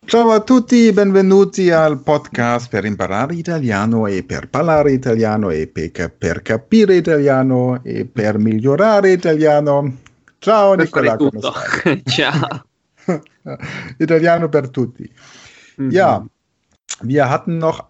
Ciao a tutti, benvenuti al podcast per imparare italiano e per parlare italiano e per capire italiano e per migliorare italiano. Ciao Nicola, come stai? Ciao. Italiano per tutti. Mhm. Ja, wir hatten noch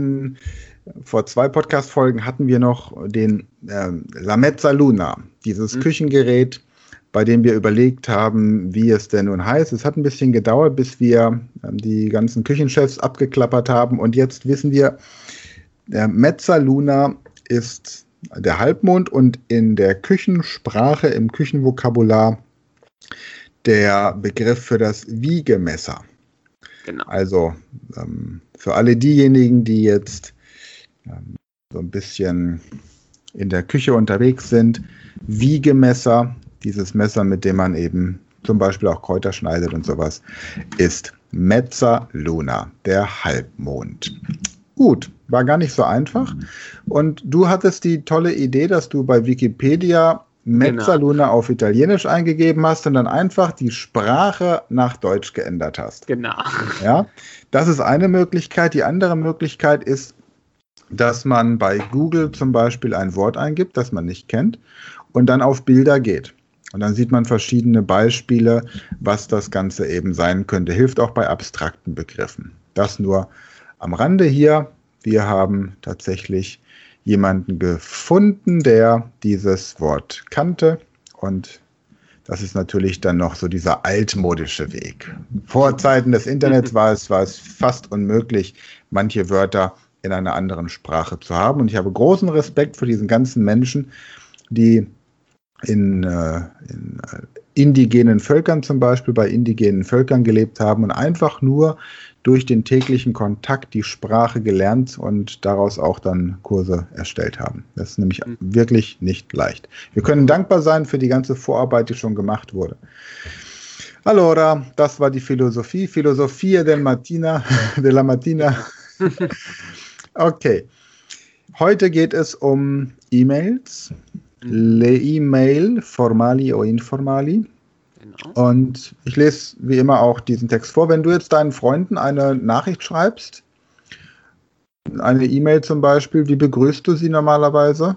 vor 2 Podcast-Folgen hatten wir noch den La Mezzaluna, dieses Küchengerät, bei dem wir überlegt haben, wie es denn nun heißt. Es hat ein bisschen gedauert, bis wir die ganzen Küchenchefs abgeklappert haben. Und jetzt wissen wir, der Mezzaluna ist der Halbmond und in der Küchensprache, im Küchenvokabular, der Begriff für das Wiegemesser. Genau. Also für alle diejenigen, die jetzt so ein bisschen in der Küche unterwegs sind, Wiegemesser, dieses Messer, mit dem man eben zum Beispiel auch Kräuter schneidet und sowas, ist Mezzaluna, der Halbmond. Gut, war gar nicht so einfach. Und du hattest die tolle Idee, dass du bei Wikipedia Mezzaluna auf Italienisch eingegeben hast und dann einfach die Sprache nach Deutsch geändert hast. Genau. Ja, das ist eine Möglichkeit. Die andere Möglichkeit ist, dass man bei Google zum Beispiel ein Wort eingibt, das man nicht kennt, und dann auf Bilder geht. Und dann sieht man verschiedene Beispiele, was das Ganze eben sein könnte. Hilft auch bei abstrakten Begriffen. Das nur am Rande hier. Wir haben tatsächlich jemanden gefunden, der dieses Wort kannte. Und das ist natürlich dann noch so dieser altmodische Weg. Vor Zeiten des Internets war es fast unmöglich, manche Wörter in einer anderen Sprache zu haben. Und ich habe großen Respekt vor diesen ganzen Menschen, die in indigenen Völkern zum Beispiel, bei indigenen Völkern gelebt haben und einfach nur durch den täglichen Kontakt die Sprache gelernt und daraus auch dann Kurse erstellt haben. Das ist nämlich wirklich nicht leicht. Wir können dankbar sein für die ganze Vorarbeit, die schon gemacht wurde. Allora, das war die Filosofia della Mattina. Okay. Heute geht es um E-Mails. Le E-Mail, formali o informali. Genau. Und ich lese wie immer auch diesen Text vor. Wenn du jetzt deinen Freunden eine Nachricht schreibst, eine E-Mail zum Beispiel, wie begrüßt du sie normalerweise?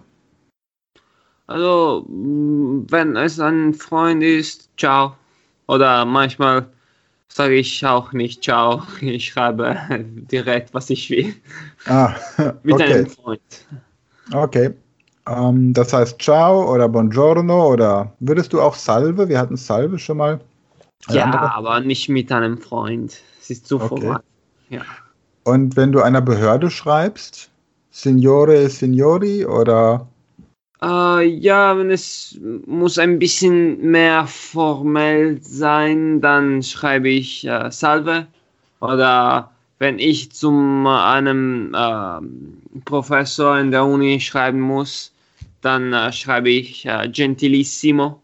Also, wenn es ein Freund ist, ciao. Oder manchmal sage ich auch nicht ciao. Ich schreibe direkt, was ich will. Mit einem Freund. Okay. Das heißt ciao oder buongiorno oder würdest du auch salve? Wir hatten salve schon mal. Ja, aber nicht mit einem Freund. Es ist zu formal. Ja. Und wenn du einer Behörde schreibst, Signore, Signori oder? Ja, wenn es muss ein bisschen mehr formell sein, dann schreibe ich salve. Oder wenn ich zu einem Professor in der Uni schreiben muss, dann schreibe ich gentilissimo.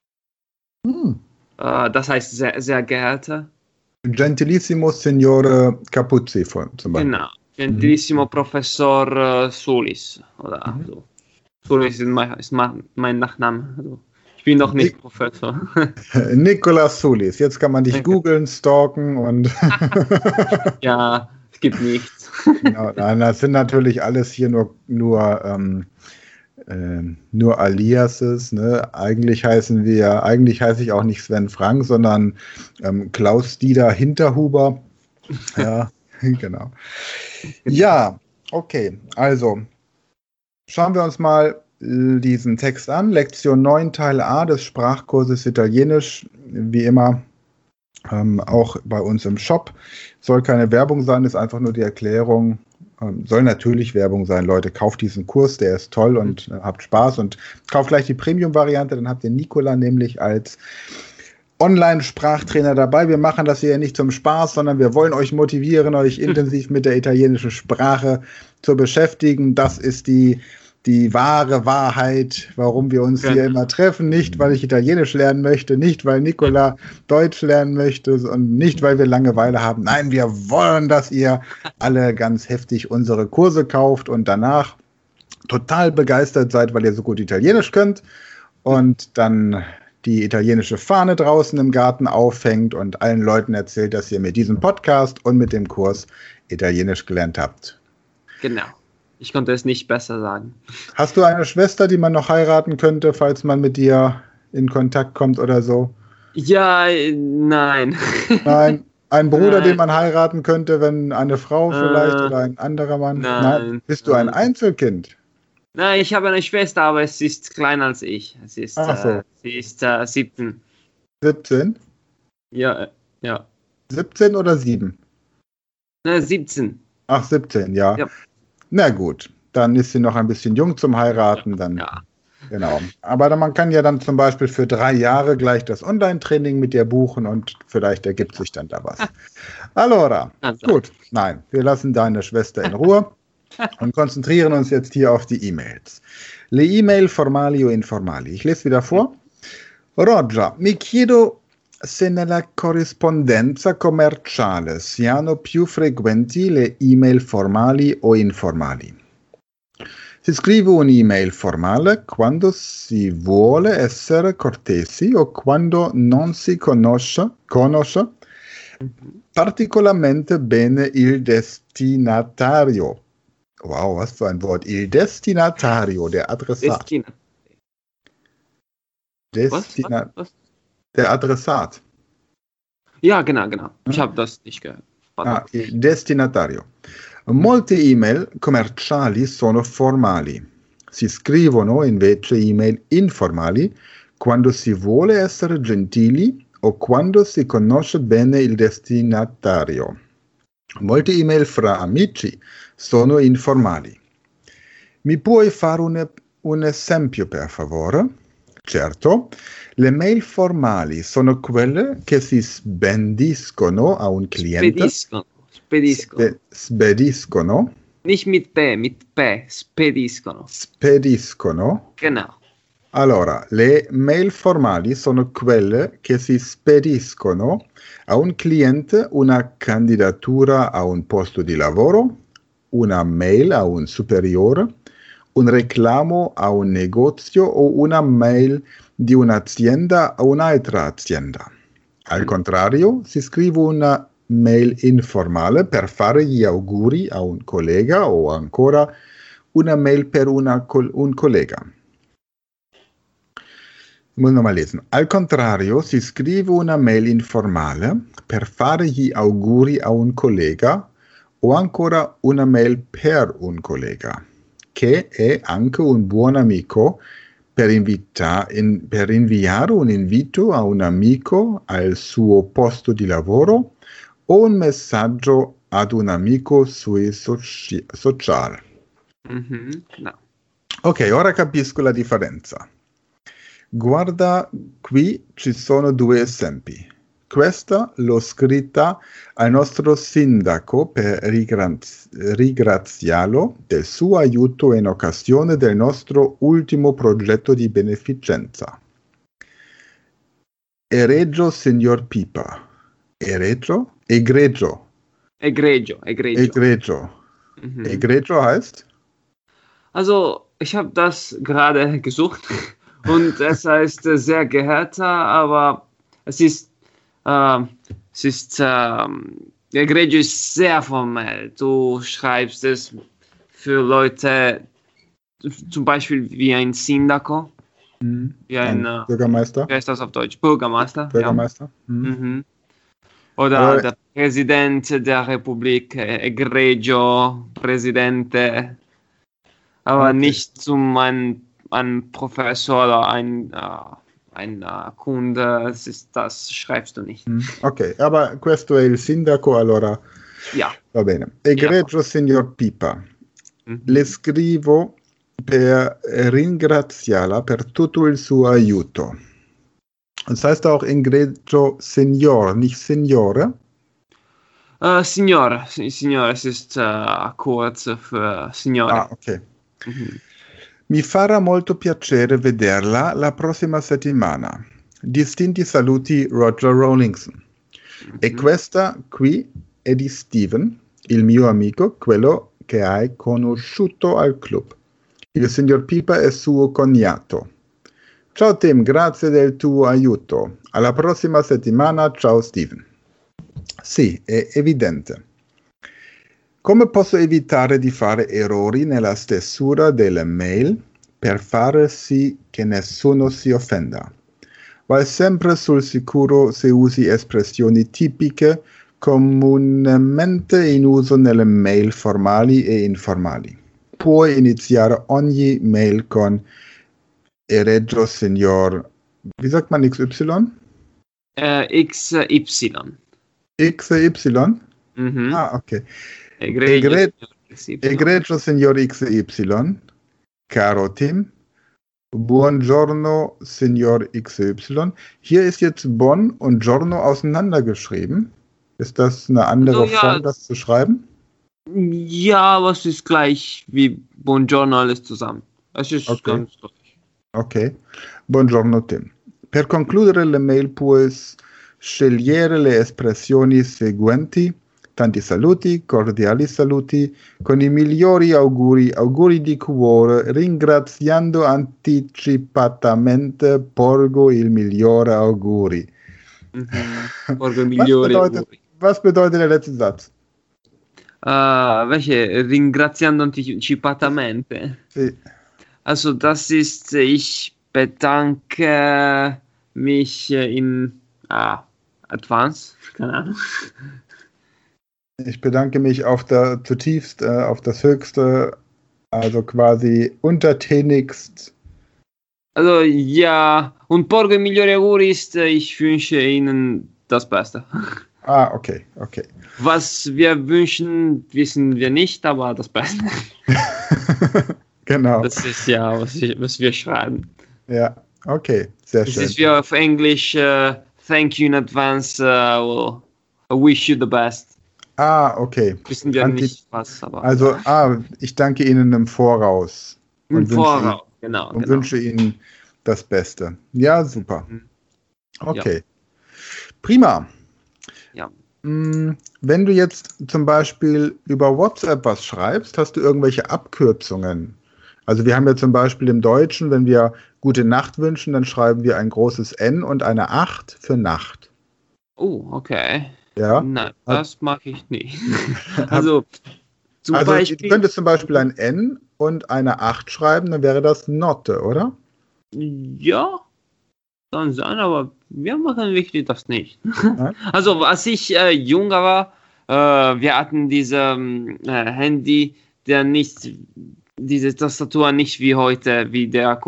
Das heißt sehr, sehr geehrter. Gentilissimo Signore Capuzzi zum Beispiel. Genau, gentilissimo Professor Solis. Oder so. Solis ist mein Nachname. Also, ich bin noch nicht Professor. Nicolas Solis. Jetzt kann man dich googeln, stalken und... Ja, es gibt nichts. Genau, nein, das sind natürlich alles hier nur Aliases. Ne? Eigentlich heiße ich auch nicht Sven Frank, sondern Klaus-Dieter Hinterhuber. Ja, genau. Ja, okay. Also, schauen wir uns mal diesen Text an. Lektion 9, Teil A des Sprachkurses Italienisch. Wie immer auch bei uns im Shop. Soll keine Werbung sein, ist einfach nur die Erklärung. Soll natürlich Werbung sein, Leute. Kauft diesen Kurs, der ist toll und habt Spaß. Und kauft gleich die Premium-Variante, dann habt ihr Nicola nämlich als Online-Sprachtrainer dabei. Wir machen das hier nicht zum Spaß, sondern wir wollen euch motivieren, euch intensiv mit der italienischen Sprache zu beschäftigen. Das ist die wahre Wahrheit, warum wir uns hier immer treffen. Nicht, weil ich Italienisch lernen möchte, nicht, weil Nicola Deutsch lernen möchte und nicht, weil wir Langeweile haben. Nein, wir wollen, dass ihr alle ganz heftig unsere Kurse kauft und danach total begeistert seid, weil ihr so gut Italienisch könnt und dann die italienische Fahne draußen im Garten aufhängt und allen Leuten erzählt, dass ihr mit diesem Podcast und mit dem Kurs Italienisch gelernt habt. Genau. Ich konnte es nicht besser sagen. Hast du eine Schwester, die man noch heiraten könnte, falls man mit dir in Kontakt kommt oder so? Ja, nein. Nein. Ein Bruder, Nein. den man heiraten könnte, wenn eine Frau vielleicht oder ein anderer Mann? Nein. Bist du ein Einzelkind? Nein, ich habe eine Schwester, aber sie ist kleiner als ich. Sie ist, So. sie ist 17. 17? Ja. 17 oder 7? 17. Ach, 17, ja. Ja. Na gut, dann ist sie noch ein bisschen jung zum Heiraten. Dann, Ja. Genau. Aber man kann ja dann zum Beispiel für 3 Jahre gleich das Online-Training mit dir buchen und vielleicht ergibt sich dann da was. Allora, gut. Nein, wir lassen deine Schwester in Ruhe und konzentrieren uns jetzt hier auf die E-Mails. Le email formali o informali. Ich lese wieder vor. Roger, mi chiedo se nella corrispondenza commerciale siano più frequenti le email formali o informali. Si scrive un'email formale quando si vuole essere cortesi o quando non si conosce particolarmente bene il destinatario. Wow, was für ein Wort. Il destinatario, der Adressat. Was? Der Adressat. Ja, genau. Ich habe das nicht gehört. Il destinatario. Molte email commerciali sono formali. Si scrivono invece email informali quando si vuole essere gentili o quando si conosce bene il destinatario. Molte email fra amici sono informali. Mi puoi fare un esempio, per favore? Certo, le mail formali sono quelle che si spediscono a un cliente. Spediscono. Nicht mit P, spediscono. Spediscono. Genau. Allora, le mail formali sono quelle che si spediscono a un cliente una candidatura a un posto di lavoro, una mail a un superiore, un reclamo a un negozio o una mail di un'azienda a un'altra azienda. Al contrario, si scrive una mail informale per fare gli auguri a un collega o ancora una mail per un collega. Ich muss nochmal lesen. Al contrario, si scrive una mail informale per fare gli auguri a un collega o ancora una mail per un collega, che è anche un buon amico per inviare un invito a un amico al suo posto di lavoro o un messaggio ad un amico sui social. No. Ok, ora capisco la differenza. Guarda, qui ci sono 2 esempi. Questa l'ho scritta al nostro sindaco per ringraziarlo del suo aiuto in occasione del nostro ultimo progetto di beneficenza. Egregio signor Pipa. Egregio? Egregio. Egregio heißt? Also, ich habe das gerade gesucht und es heißt sehr geehrter, aber Egregio ist sehr formell. Du schreibst es für Leute, zum Beispiel wie ein Sindaco, wie ein Bürgermeister. Wie heißt das auf Deutsch? Bürgermeister. Bürgermeister. Ja. Oder der Präsident der Republik, Egregio, Präsidente, aber nicht zum ein Professor oder ein Kunde, das schreibst du nicht. Ok, aber questo è il sindaco, allora Ja. va bene. Egregio signor Pipa, le scrivo per ringraziarla per tutto il suo aiuto. Das heißt auch egregio signor, nicht signore? Signore, es ist kurz für Signore. Ah, ok. Mi farà molto piacere vederla la prossima settimana. Distinti saluti, Roger Rawlingson. E questa qui è di Steven, il mio amico, quello che hai conosciuto al club. Il signor Pipa è suo cognato. Ciao Tim, grazie del tuo aiuto. Alla prossima settimana, ciao Steven. Sì, è evidente. Come posso evitare di fare errori nella stesura delle mail per fare sì che nessuno si offenda? Vai sempre sul sicuro se usi espressioni tipiche comunemente in uso nelle mail formali e informali. Puoi iniziare ogni mail con Egregio Signor, wie sagt man XY? XY. XY? Mhm. Ah, okay. Egregio XY. Egregio Signor XY, caro Tim, buongiorno Signor XY. Hier ist jetzt Bon und Giorno auseinandergeschrieben. Ist das eine andere Also, ja, Form, das zu schreiben? Ja, aber es ist gleich wie Buongiorno alles zusammen. Es ist Okay. ganz gleich. Ok, buongiorno Tim. Per concludere le mail puoi scegliere le espressioni seguenti: tanti saluti, cordiali saluti, con i migliori auguri, auguri di cuore, ringraziando anticipatamente, porgo il migliore auguri. Porgo migliori auguri. Was bedeutet der letzte Satz? Welche? Ringraziando anticipatamente. Sì. Also das ist, ich bedanke mich in Advance, keine Ahnung. Ich bedanke mich zutiefst, auf das Höchste, also quasi untertänigst. Also ja, und porgo migliori auguri ist, ich wünsche Ihnen das Beste. Ah, okay. Was wir wünschen, wissen wir nicht, aber das Beste. Genau. Das ist ja, was wir schreiben. Ja, okay, sehr Das schön. ist wie auf Englisch, thank you in advance, I wish you the best. Ah, okay. Wissen wir nicht was, aber... Also, ich danke Ihnen im Voraus. Im Voraus, genau. Und wünsche Ihnen das Beste. Ja, super. Okay. Ja. Prima. Ja. Wenn du jetzt zum Beispiel über WhatsApp was schreibst, hast du irgendwelche Abkürzungen? Also wir haben ja zum Beispiel im Deutschen, wenn wir gute Nacht wünschen, dann schreiben wir ein großes N und eine 8 für Nacht. Oh, okay. Ja. Nein, das mache ich nicht. Also zum Beispiel... Du könntest zum Beispiel ein N und eine 8 schreiben, dann wäre das Notte, oder? Ja, kann sein, aber wir machen wirklich das nicht. Also als ich jünger war, wir hatten diese Handy, der nicht... diese Tastatur nicht wie heute, wie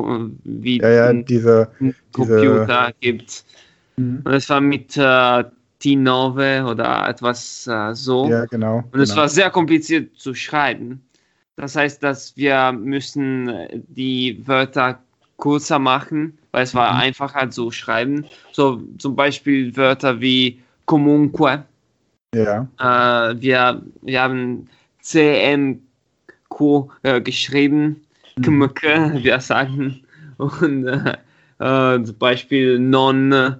diese Computer gibt. Und es war mit T9 oder etwas so. Ja, genau. Und es war sehr kompliziert zu schreiben. Das heißt, dass wir müssen die Wörter kürzer machen, weil es war einfacher zu schreiben. So zum Beispiel Wörter wie comunque. Ja. Wir haben CMQ geschrieben, Kmke, wir sagen, und zum Beispiel non,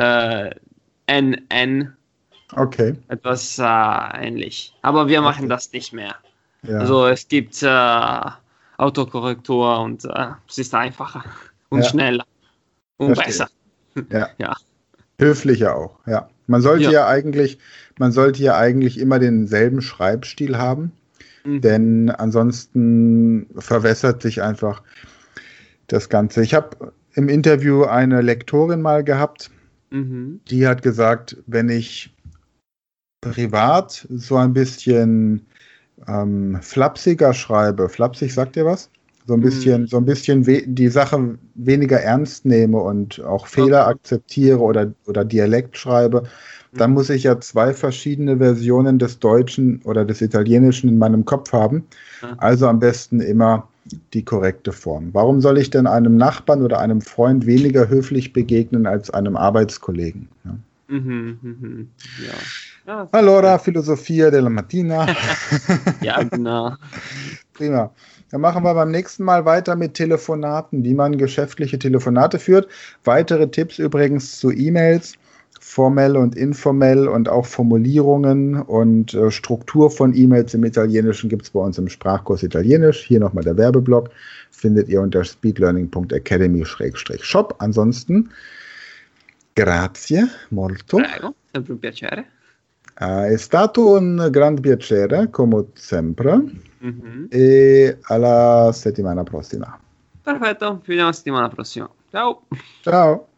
NN, okay. etwas ähnlich. Aber wir machen das nicht mehr. Ja. Also es gibt Autokorrektur und es ist einfacher und schneller und besser. Ja. Ja. Höflicher auch, ja. Man sollte ja eigentlich immer denselben Schreibstil haben. Denn ansonsten verwässert sich einfach das Ganze. Ich habe im Interview eine Lektorin mal gehabt, die hat gesagt, wenn ich privat so ein bisschen flapsiger schreibe, flapsig, sagt ihr was? So ein bisschen die Sache weniger ernst nehme und auch Fehler akzeptiere oder Dialekt schreibe, dann muss ich ja 2 verschiedene Versionen des Deutschen oder des Italienischen in meinem Kopf haben. Also am besten immer die korrekte Form. Warum soll ich denn einem Nachbarn oder einem Freund weniger höflich begegnen als einem Arbeitskollegen? Ja. Ja. Allora, Filosofia della Mattina. Ja, genau. Prima. Dann machen wir beim nächsten Mal weiter mit Telefonaten, wie man geschäftliche Telefonate führt. Weitere Tipps übrigens zu E-Mails formell und informell und auch Formulierungen und Struktur von E-Mails im Italienischen gibt es bei uns im Sprachkurs Italienisch. Hier nochmal der Werbeblock. Findet ihr unter speedlearning.academy/shop. Ansonsten, grazie molto. Prego, sempre un piacere. È stato un gran piacere, come sempre. Mhm. E alla settimana prossima. Perfetto, ci vediamo la settimana prossima. Ciao. Ciao.